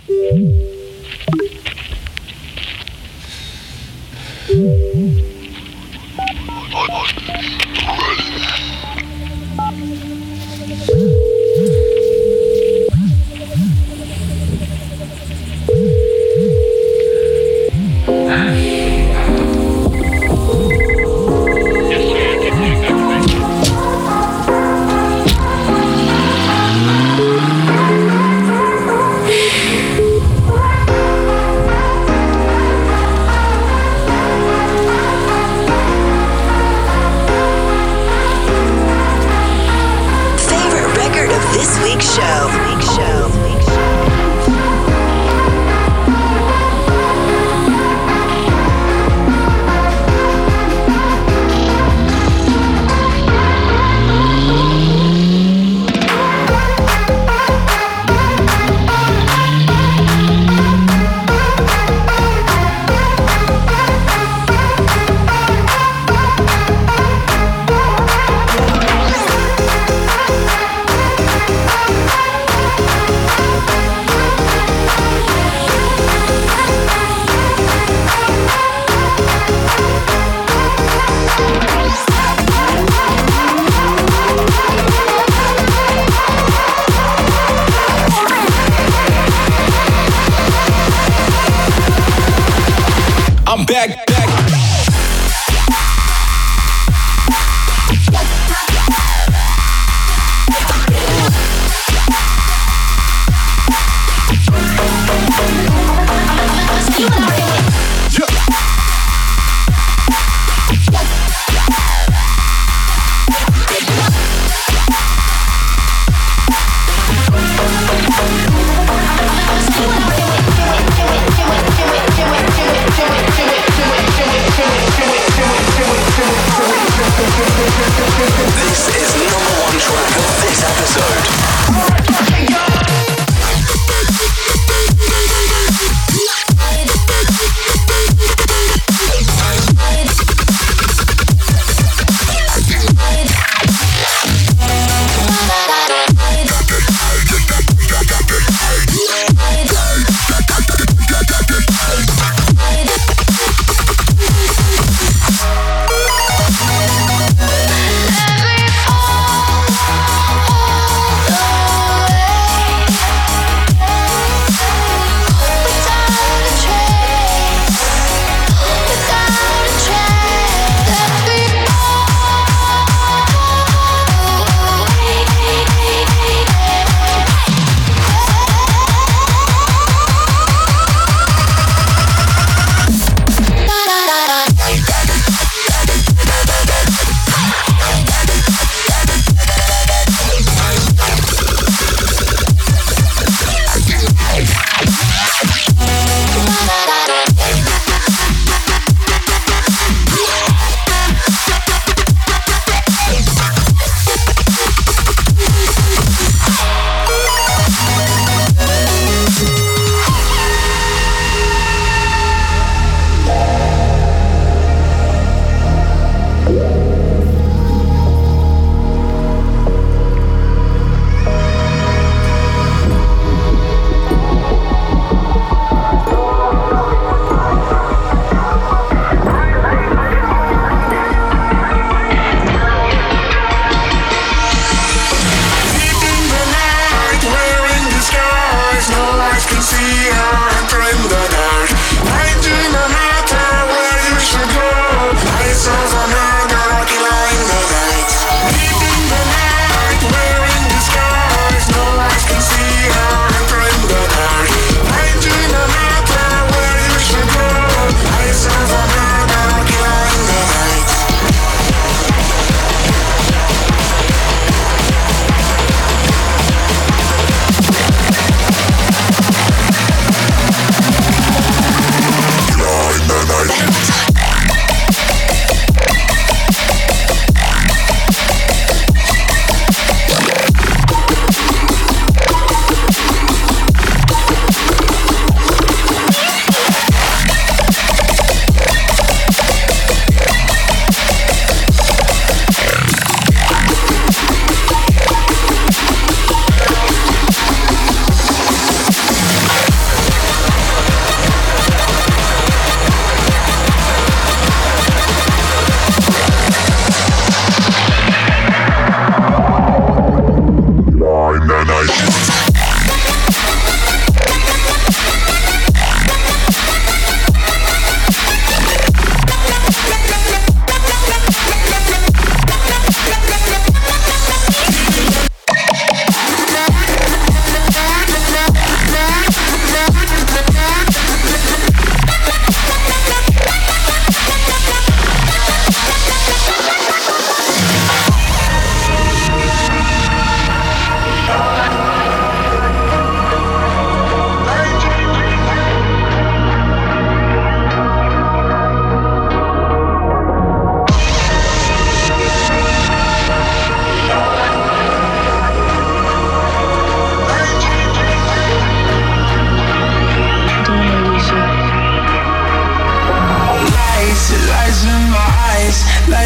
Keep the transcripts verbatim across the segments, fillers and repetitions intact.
Episode.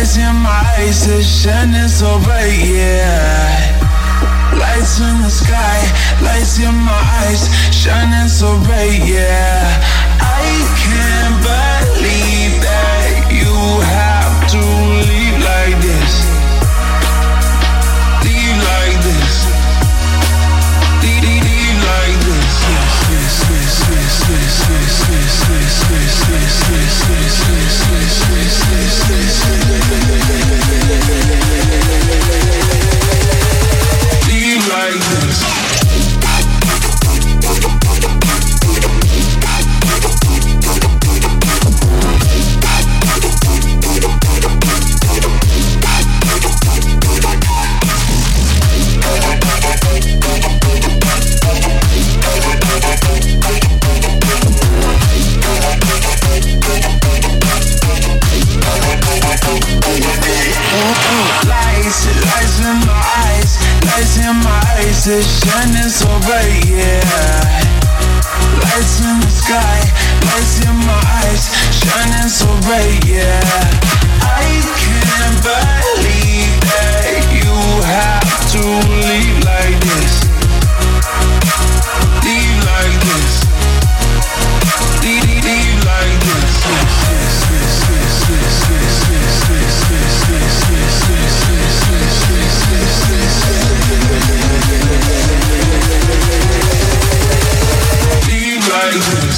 Lights in my eyes, it's shining so bright, yeah. Lights in the sky, lights in my eyes, shining so bright, yeah. I can't believe that you have to leave like this. Leave like this. Leave, leave, leave like this. Yes, yes, yes, yes, yes, yes, yes, yes, yes, yes, yes, yes, yes, yes, yes, yes, yes. Leave like this. Lights, lights in my eyes, lights in my eyes, it's shining so bright, yeah. Lights in the sky, lights in my eyes, shining so bright, yeah. I can't believe that you have to leave like this. Leave like this. Leave, leave, leave like this. Yes, yes, yes, yes, yes, yes, yes, yes, yes, yes, yes, yes, yes, yes, yes, yes, yes. Leave like this.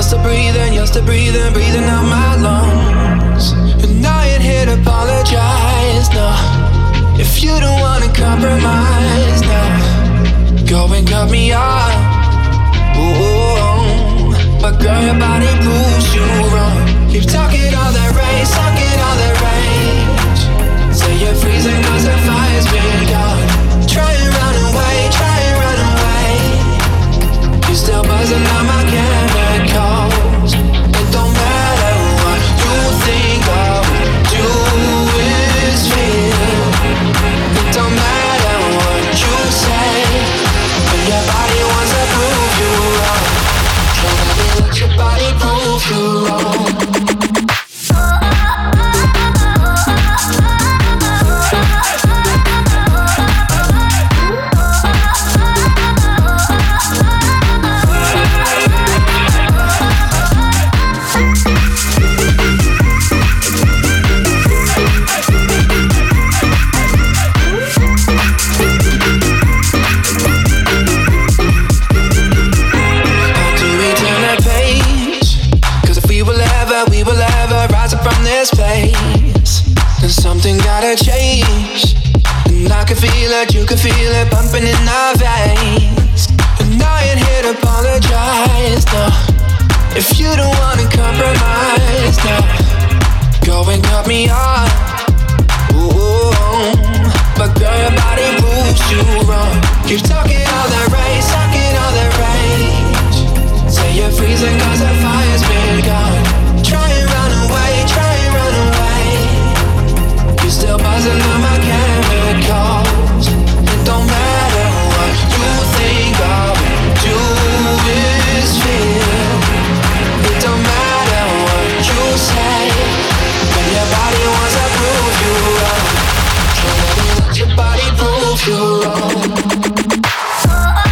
still breathing, you're still breathing, breathing out my lungs. And I ain't here to apologize, no. If you don't wanna compromise, no. Go and cut me off. Ooh, but girl, your body proves you wrong. Keep talking all that rage, talking all that rage. Say you're freezing cause the fire's been gone. Try and run away, try and run away. You still buzzing on my chemicals. It don't matter what you think of, do is feel. It don't matter what you say, when your body wants to prove you wrong. So let me let your body prove you wrong. Something gotta change, and I can feel it, you can feel it pumping in our veins. And I ain't here to apologize, no. If you don't wanna compromise, no. Go and cut me off. Ooh, but girl, your body proves you wrong. Keep talking all that rage, talking all that rage. Say you're freezing cause the fire's been gone. Try and run away, try and run away. Still buzzing on my chemicals. It don't matter what you think of, do is feel. It don't matter what you say, when your body wants to prove you wrong. So let me let your body prove you wrong.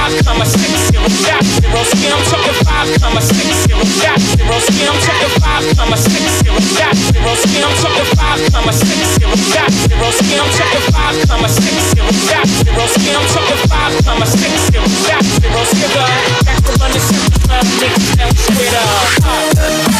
five comma six zero dot zero ski. I'm talking five comma six zero dot zero ski. I'm talking five comma six zero dot zero ski. I'm talking five comma six zero dot zero ski. I'm talking five comma six zero dot zero ski. I'm talking five comma six zero dot zero ski. Back to run the simple club, niggas down straight up.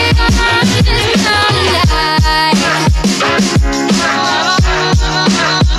I'm